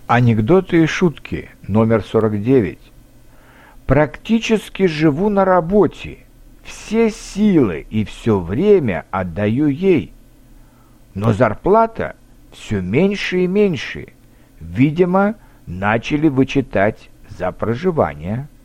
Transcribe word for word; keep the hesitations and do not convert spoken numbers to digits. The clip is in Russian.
Анекдоты и шутки номер сорок девять. Практически живу на работе. Все силы и все время отдаю ей. Но зарплата все меньше и меньше. Видимо, начали вычитать за проживание.